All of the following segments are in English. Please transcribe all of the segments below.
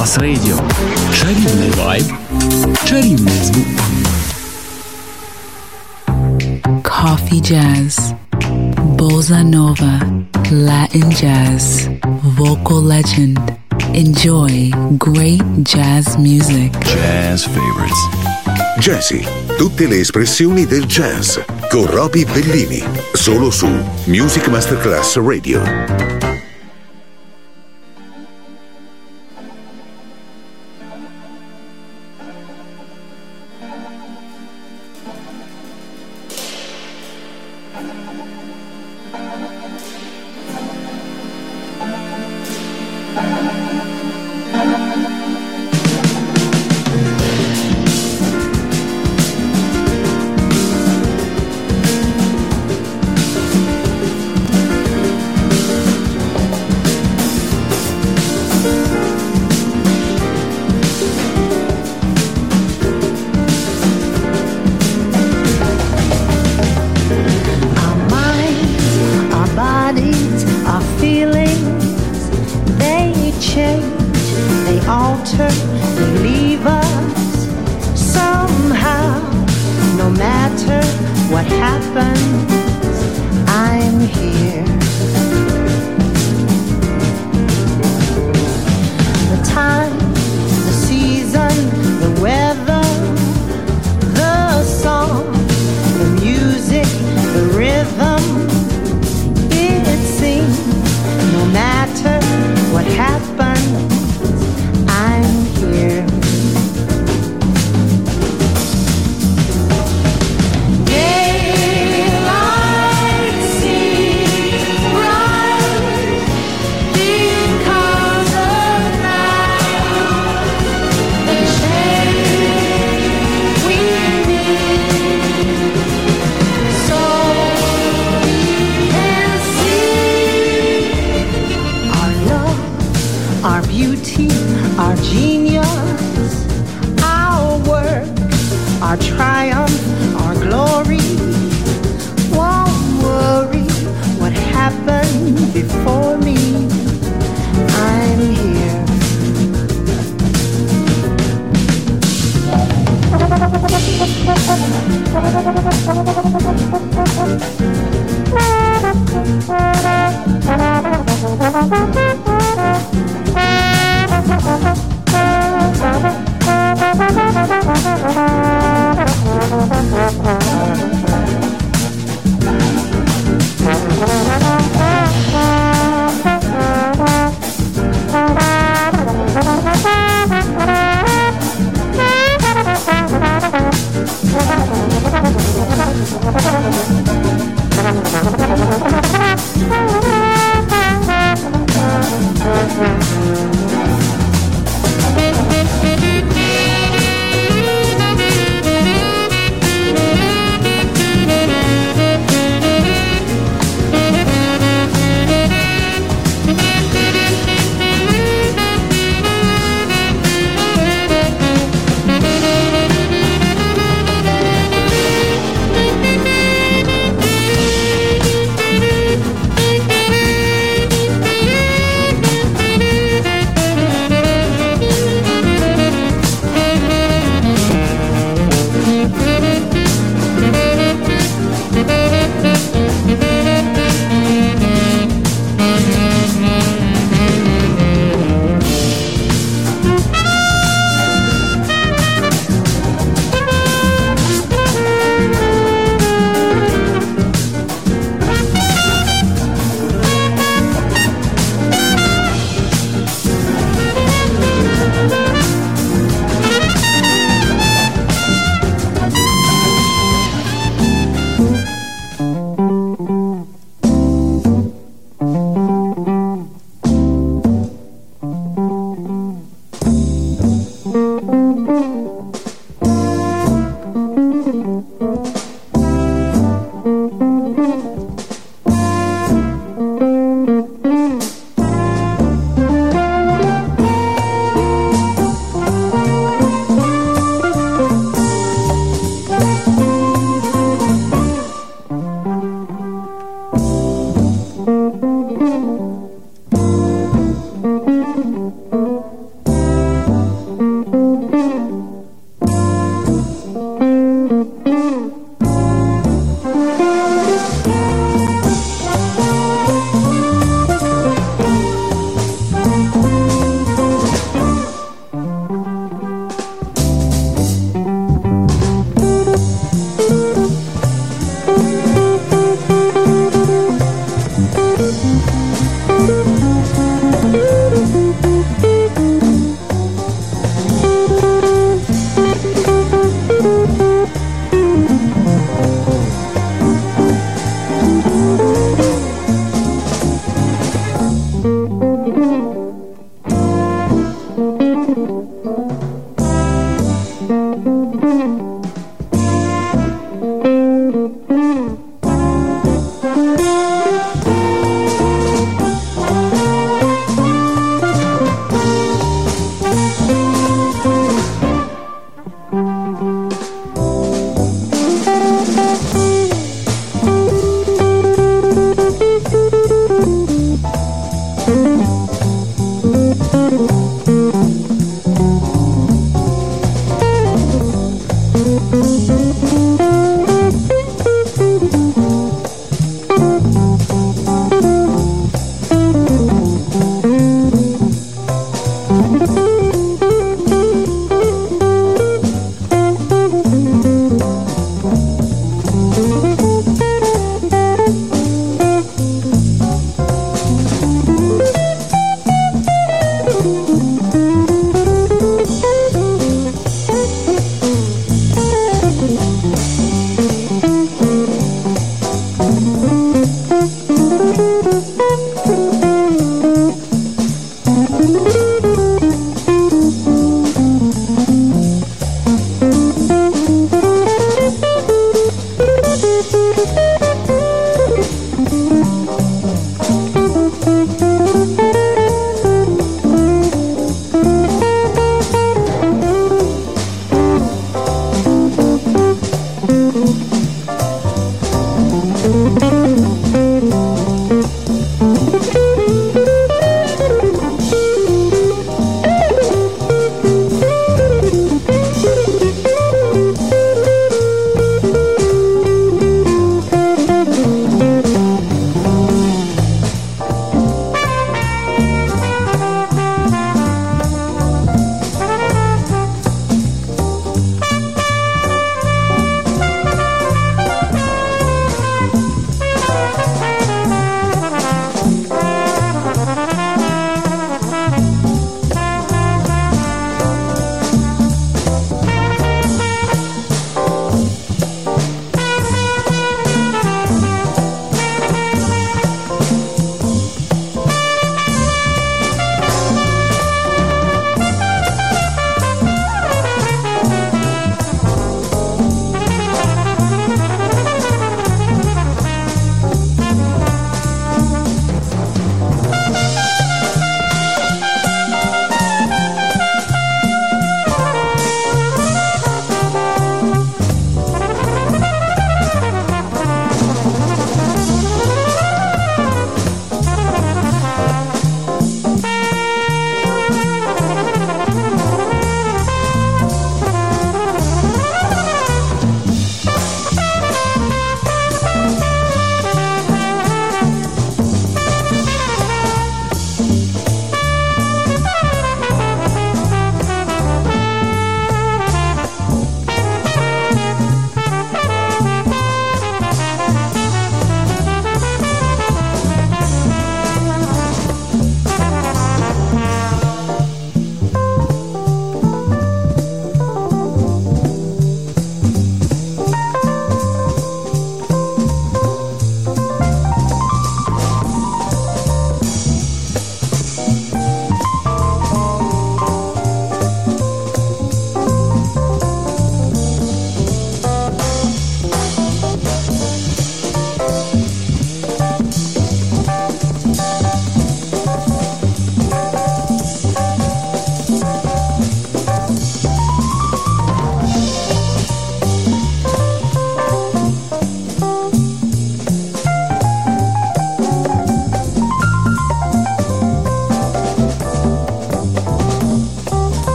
Plus Radio. Чарівний вайб, чарівний звук. Coffee jazz, bossa nova, Latin jazz, vocal legend. Enjoy great jazz music. Jazz favorites. Jazzy, tutte le espressioni del jazz con Roby Bellini, solo su Music Masterclass Radio.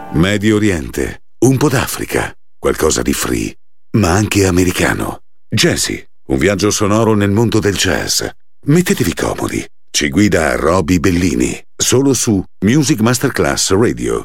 Medio Oriente, un po' d'Africa, qualcosa di free, ma anche americano. Jazzy, un viaggio sonoro nel mondo del jazz. Mettetevi comodi. Ci guida Roby Bellini, solo su Music Masterclass Radio.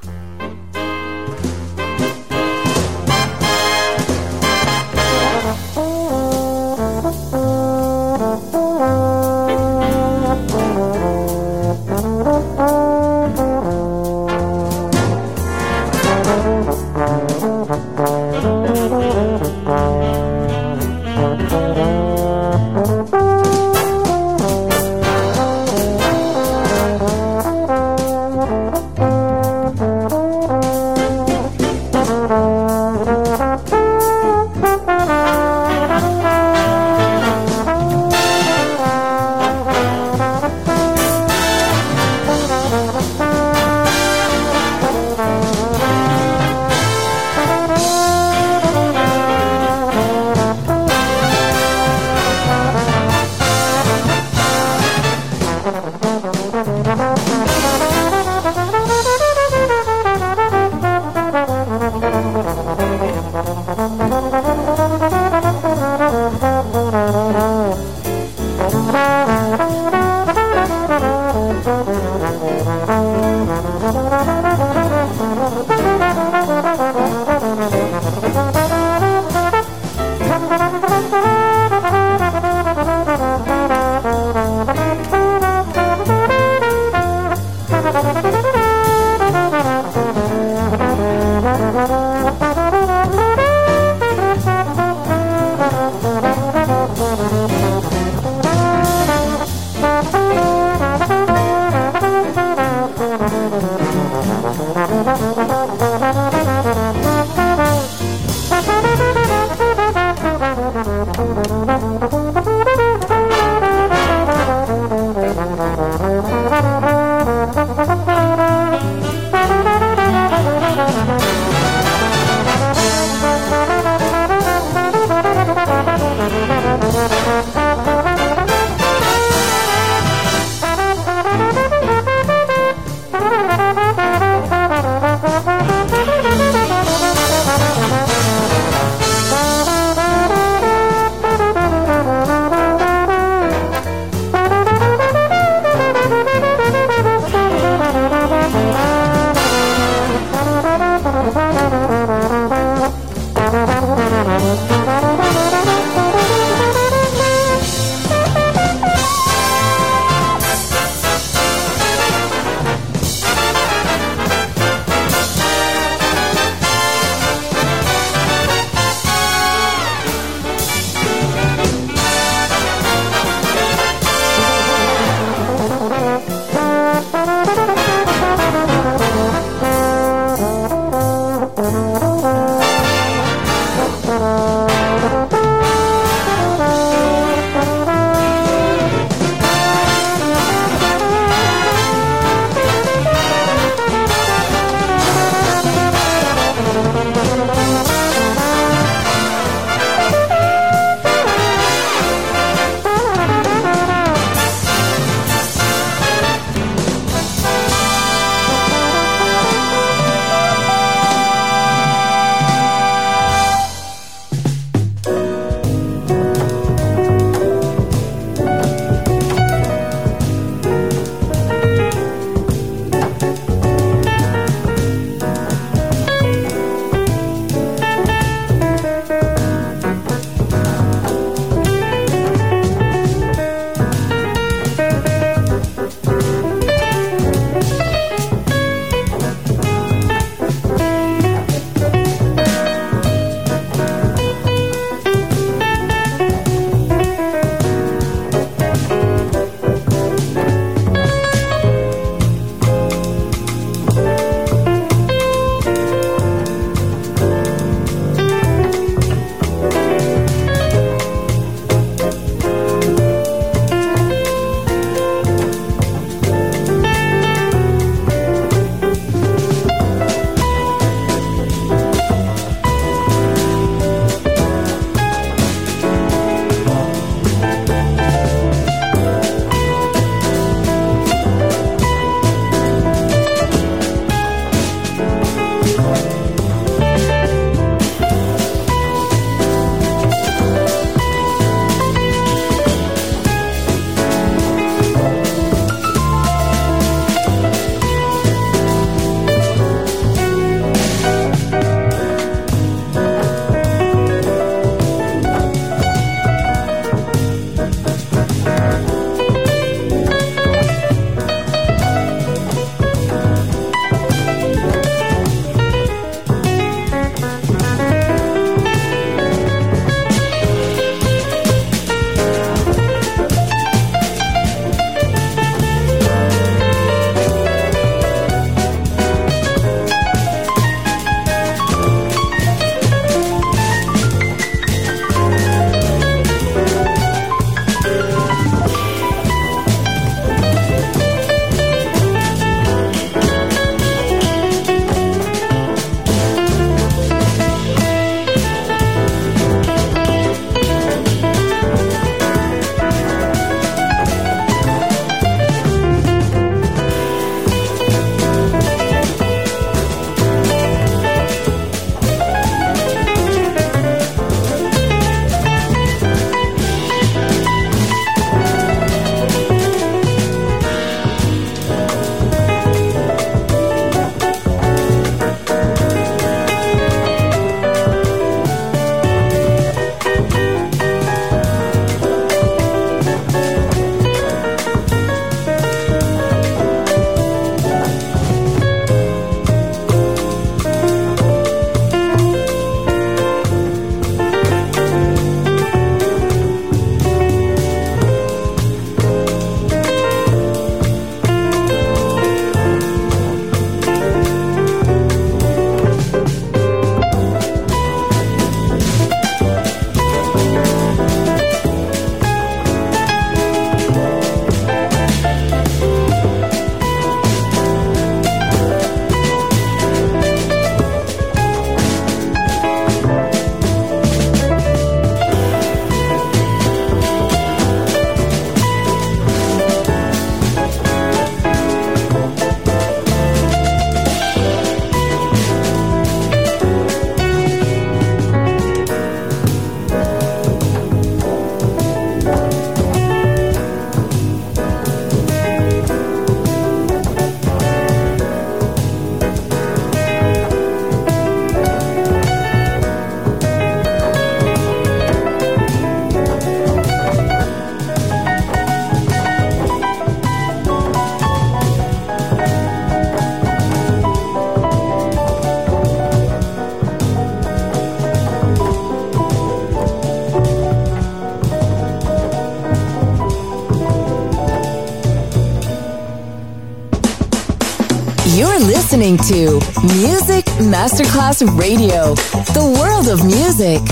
listening to Music Masterclass Radio, the world of music.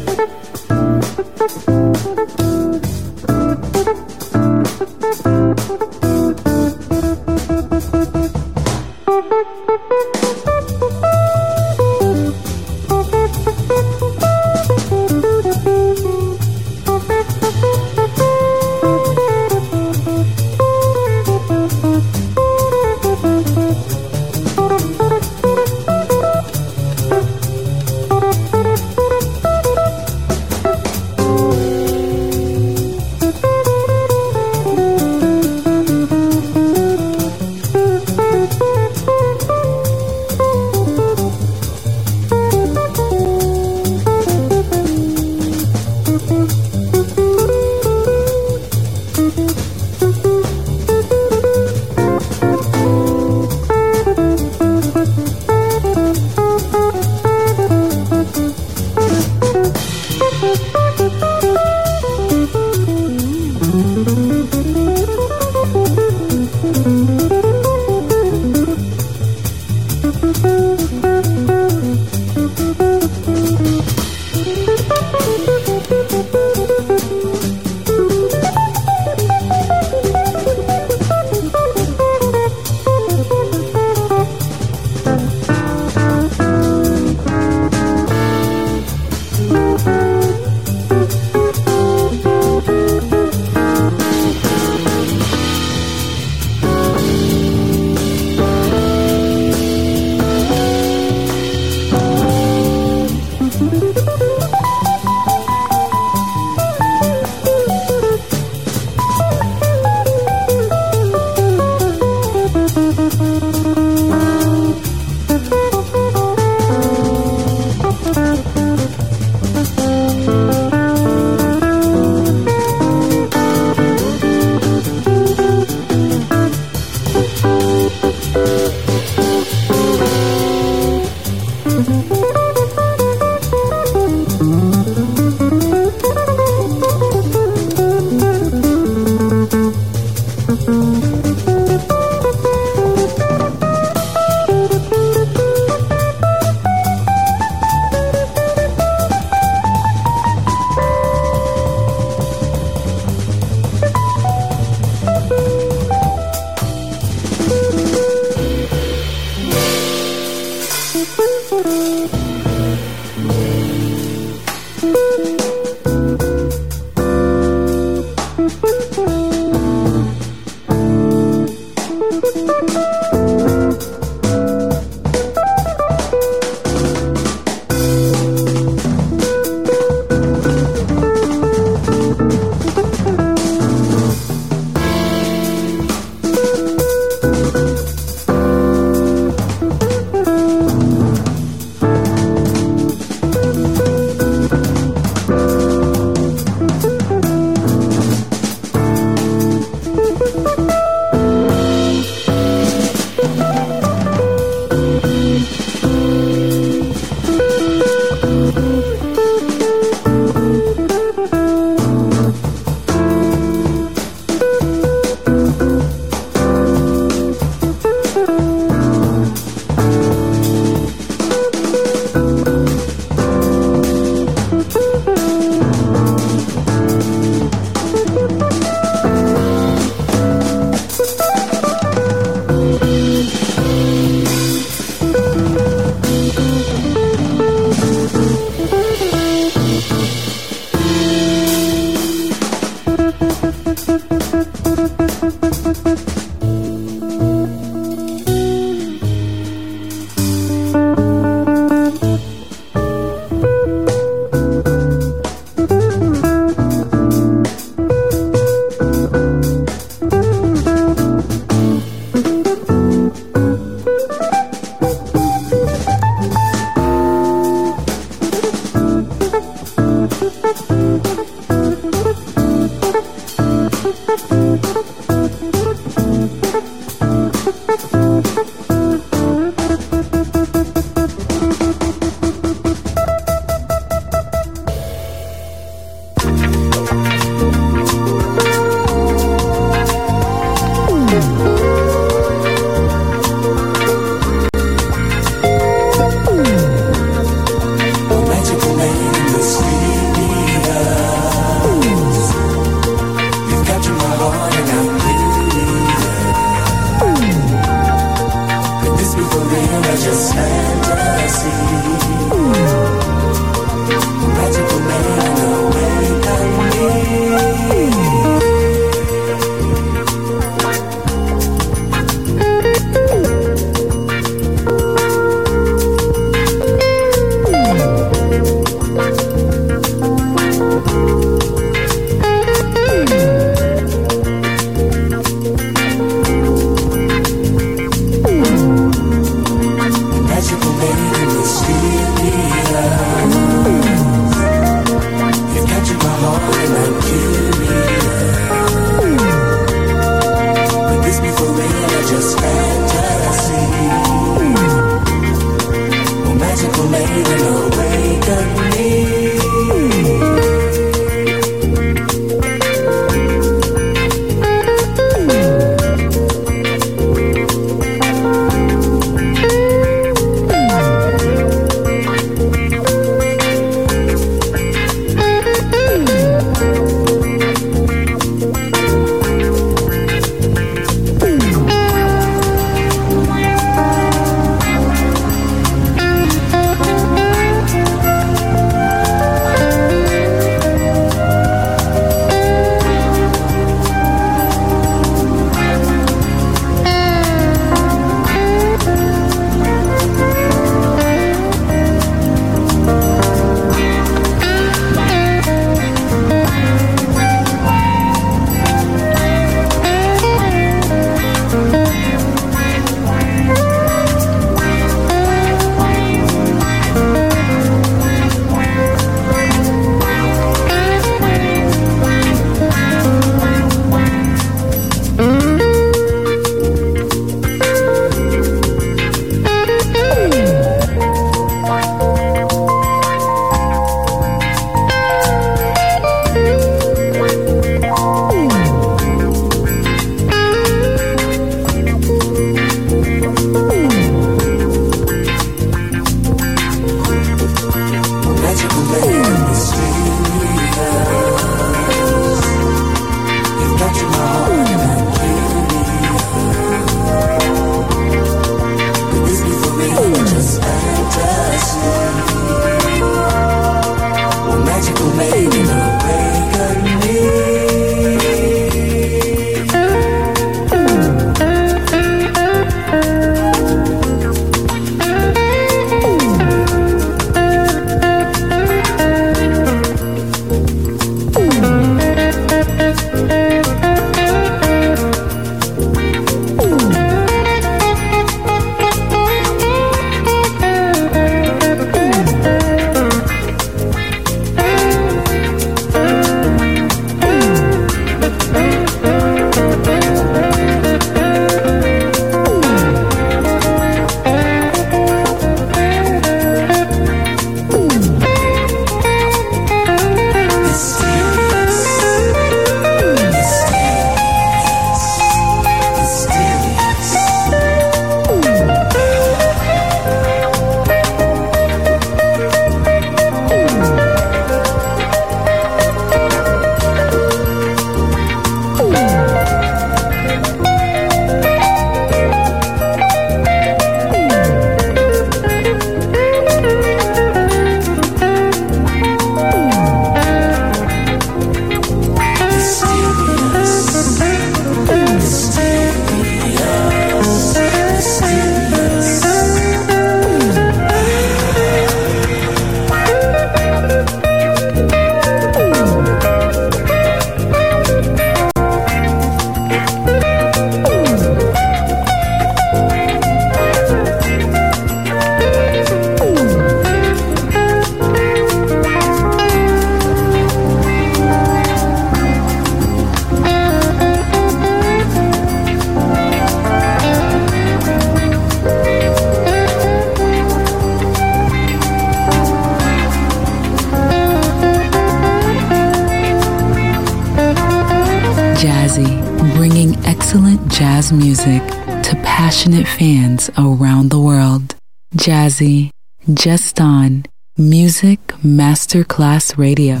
bringing excellent jazz music to passionate fans around the world. Jazzy, just on Music Masterclass Radio.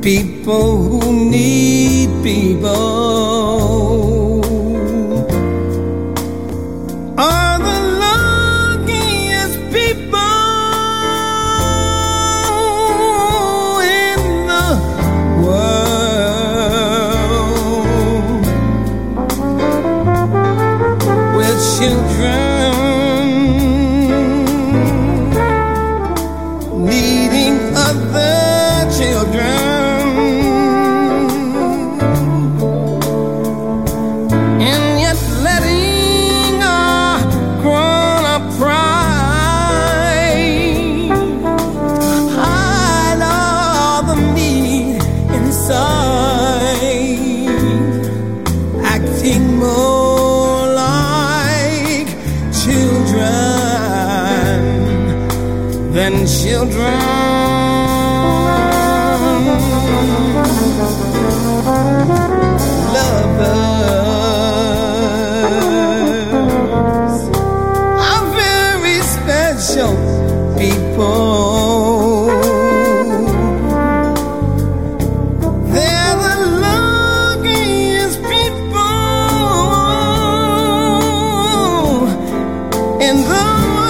people who need people are the luckiest people in the world. With children needing other children, and yet letting our grown-up pride hide all the need inside, acting more like children than children. Lovers are very special people. They're the luckiest people in the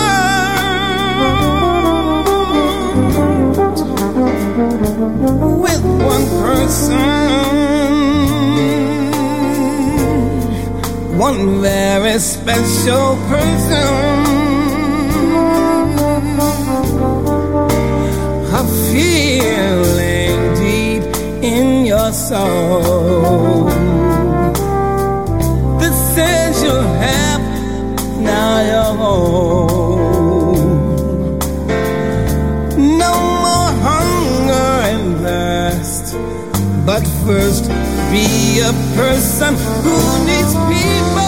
world. With one person, one very special person, a feeling deep in your soul that says you're happy, now you're home. No more hunger and thirst, but first be a person who needs people.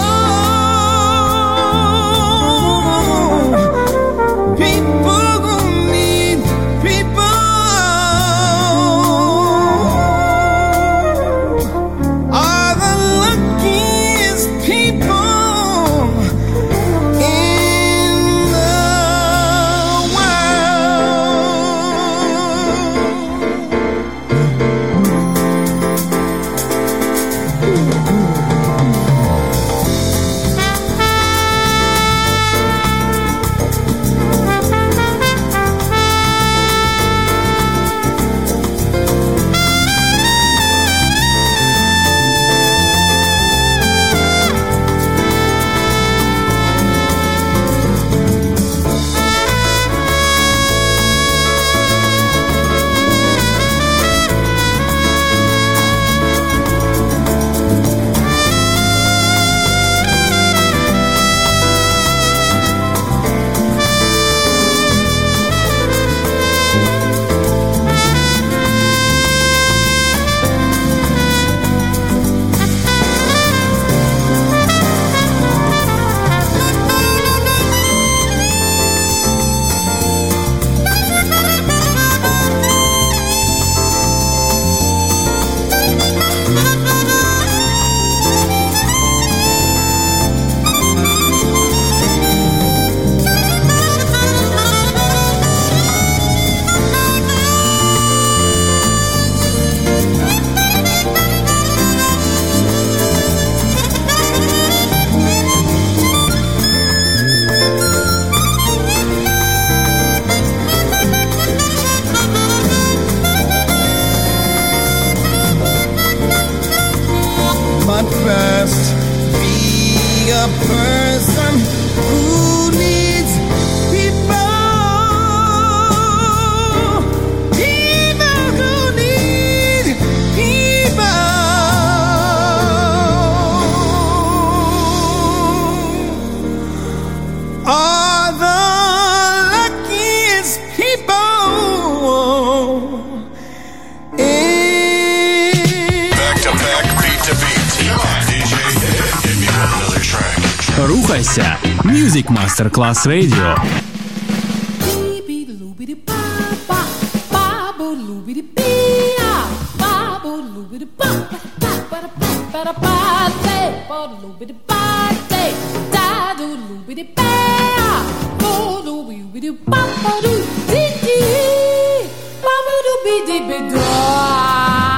People who need people are the luckiest people in the But first, be a person who needs people. People who need people are the luckiest people. Рухайся! Music Masterclass Radio. Ba-ba-doo-be-dee-be-doo.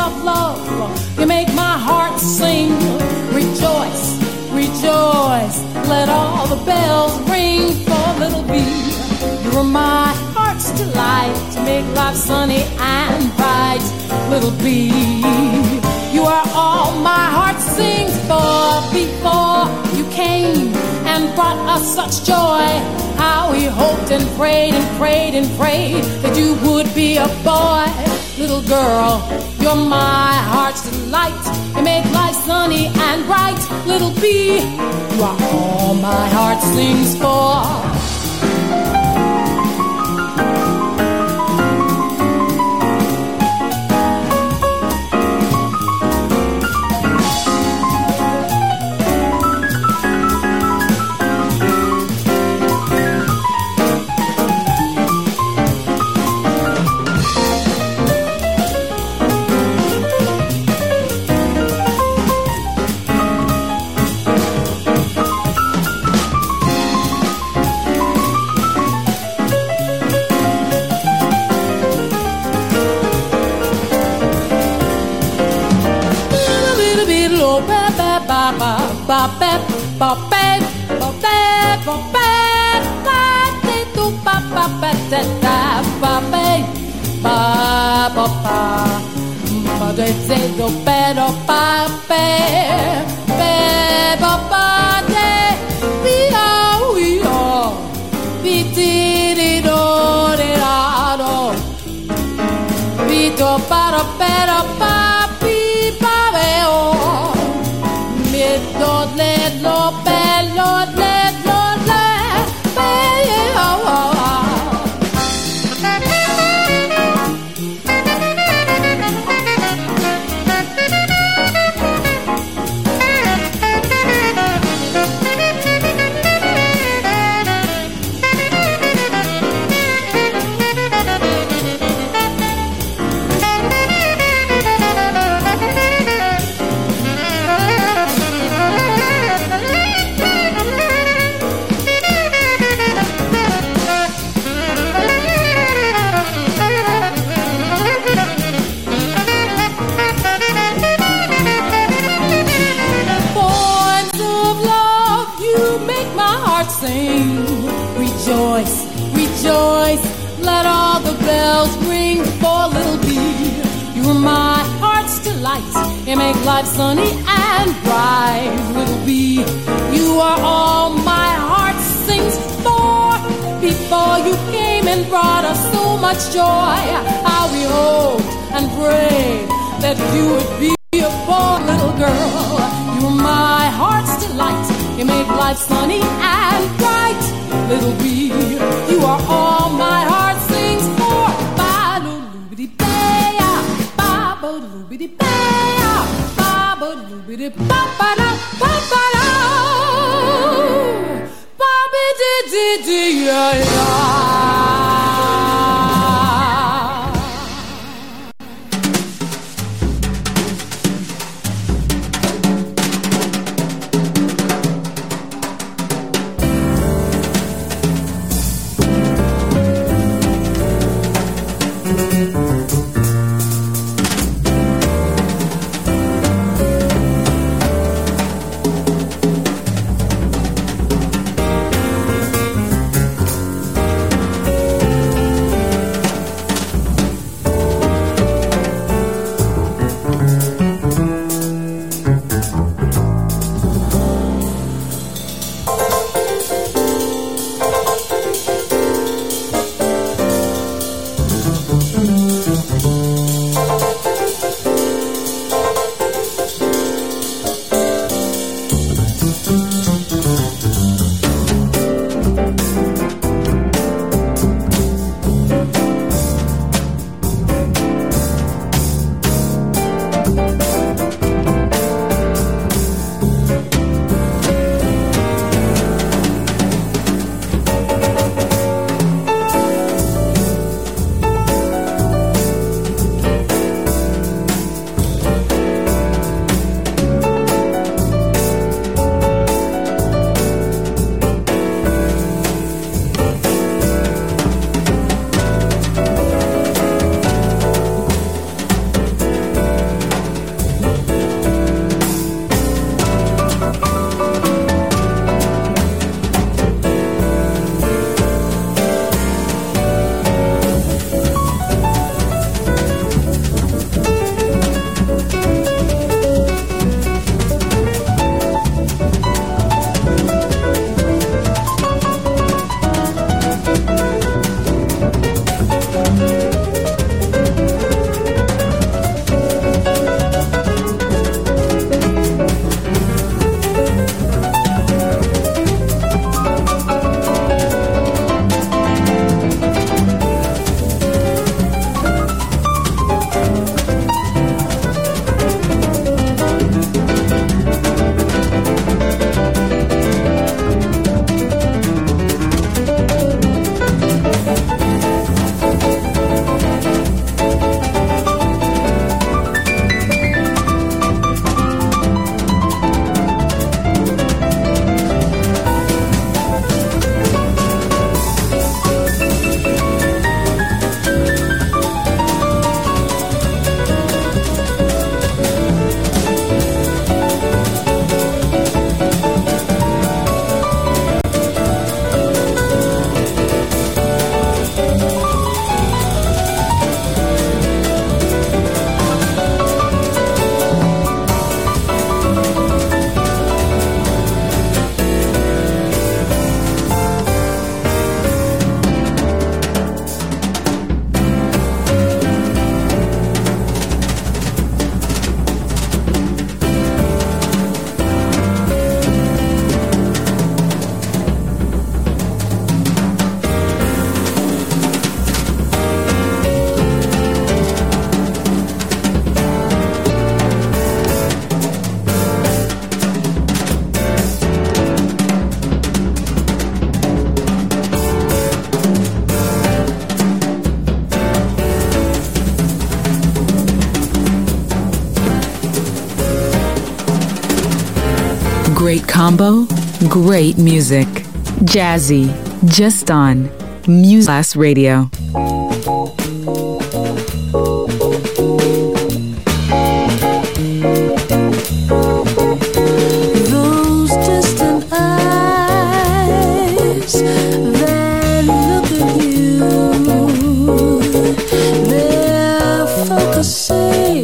of love. You make my heart sing. Rejoice, rejoice, let all the bells ring for little B. You're my heart's delight to make life sunny and bright, little B. You are all my heart sings for. Before you came and brought us such joy, how we hoped and prayed and prayed and prayed that you would be a boy. Little girl, you're my heart's delight. You make life sunny and bright. Little B, you are all my heart sings for. You make life sunny and bright, little B. You are all my heart sings for. Before you came and brought us so much joy, how we hoped and prayed that you would be a born little girl. You are my heart's delight. You make life sunny and bright, little B. You are all my heart sings for. Ba-do-loo-be-dee-bay-ya, ba-ba-doo-be-dee-bay-ya, ba-ba-doo-be-dee-ba-ba-da, ba-ba-da, ba-ba-dee-dee-dee-ya-ya. Great combo, great music. Jazzy, just on Music Class Radio. Those distant eyes that look at you, they're focusing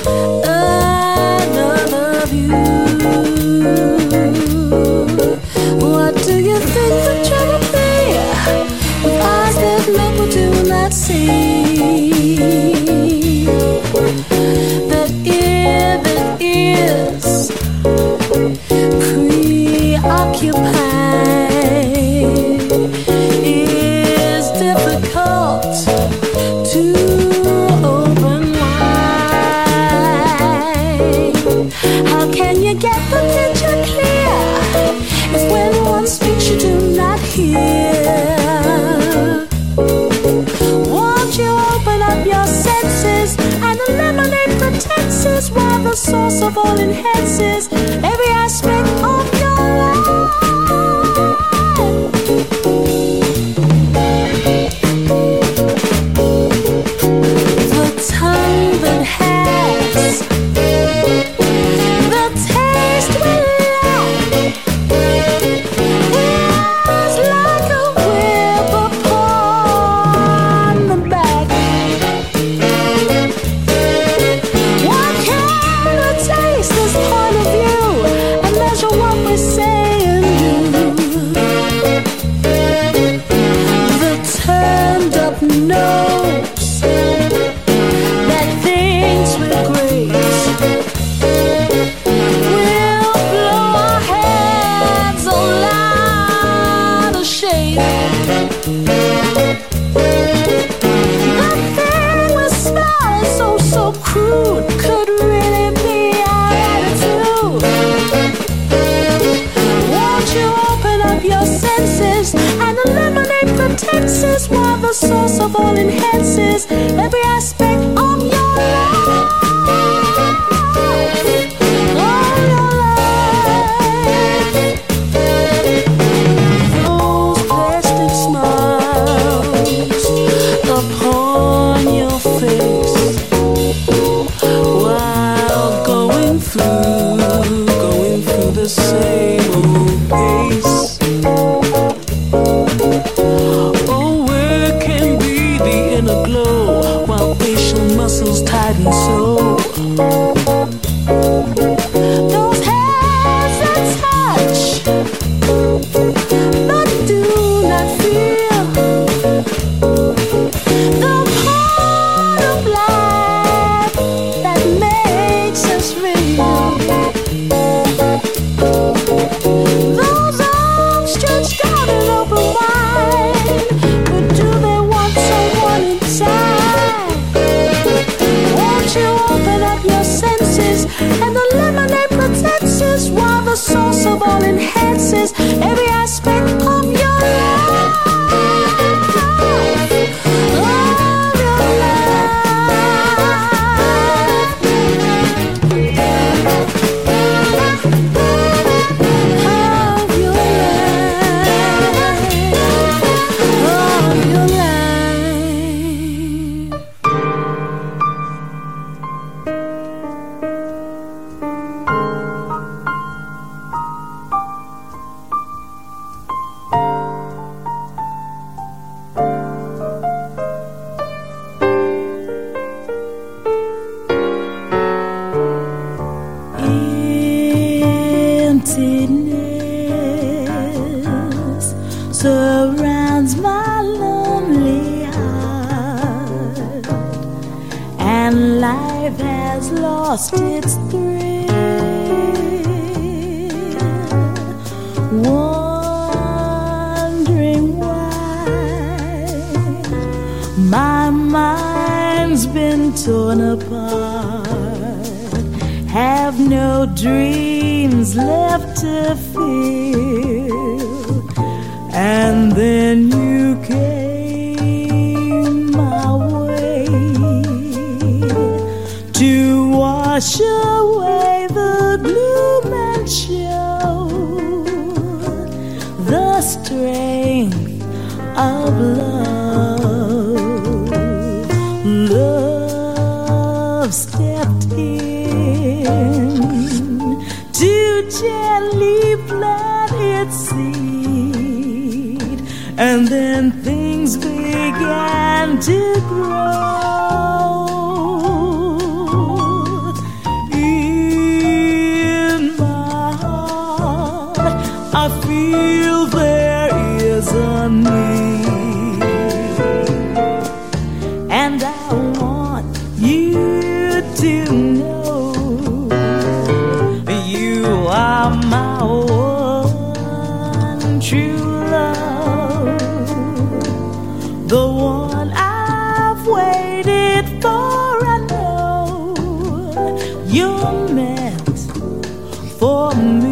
another view. What do you think they're trying to play with eyes that look but do not see? That ear that is preoccupied is difficult to open wide. How can you get the picture clear if when one speaks you do not hear? Won't you open up your senses and eliminate pretenses while the source of all enhances every aspect of your life? The tongue that has the taste we lack is like a whip upon the back. What can we taste this point of view and measure what we say and do? The turned up nose that thinks we're great will blow our heads all out of shape. The thing we smell is so crude could really be our attitude. Won't you open up your senses and eliminate pretenses while the source of all enhances every aspect of your life? Of your life. Those plastic smiles upon your face while going through the same old pace. Oh, where can be the inner glow while facial muscles tighten so? Those hands that touch but do not feel the part of life that makes us real. Those arms stretched out and open wide, but do they want someone inside? Won't you open up your senses and eliminate pretenses while the source of all enhances every aspect of your life? Of your life. Of your Emptiness surrounds my lonely heart, and life has lost its thrill. Wondering why my mind's been torn apart, have no dreams left to feel. And then you came my way to wash away the gloom and show gently plant its seed, and then things began to grow. In my heart, I feel there is a need, and I want you to know you are my one true love, the one I've waited for. I know you're meant for me.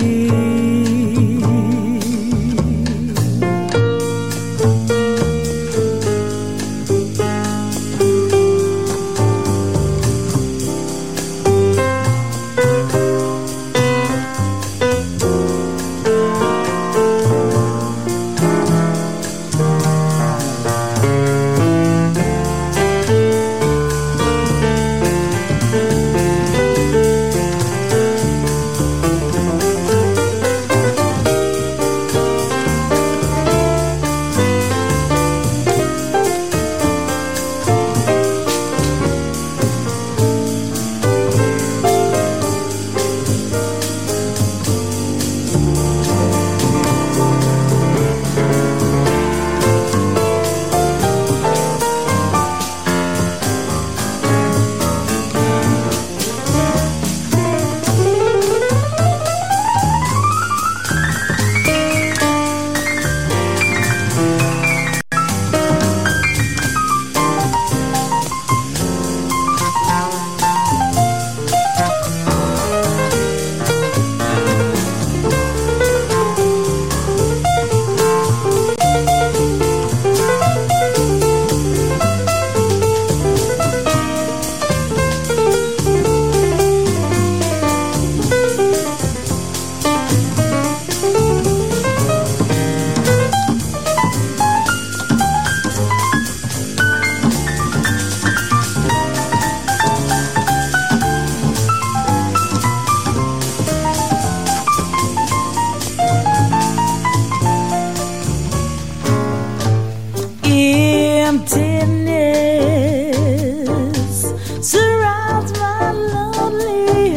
Emptiness surrounds my lonely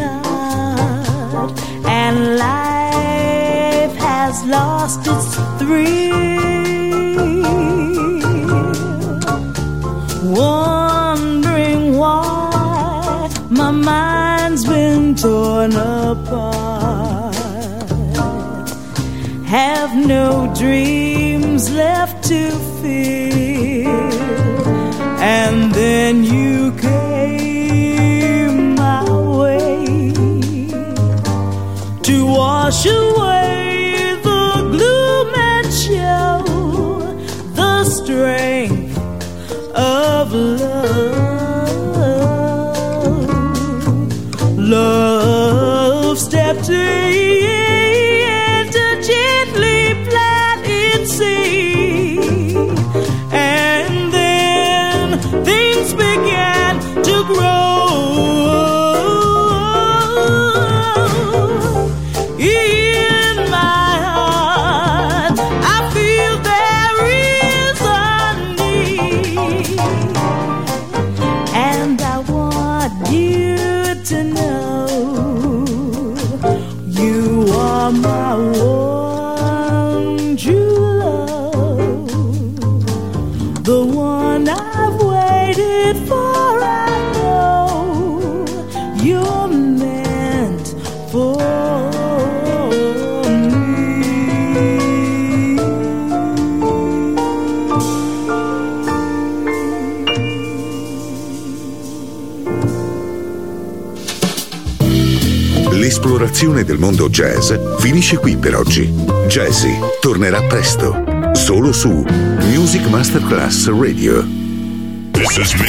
heart, and life has lost its thrill. Wondering why my mind's been torn apart, have no dreams left to feel. And then you came my way to wash away the gloom and show the strength of love. Love stepped in to gently plant its seed, and then things began to grow. In my heart, I feel there is a need, and I want you to know you are my one true love, the one I've waited for. I know you're meant for L'esplorazione del mondo jazz finisce qui per oggi. Jazzy tornerà presto, solo su Music Masterclass Radio. This has been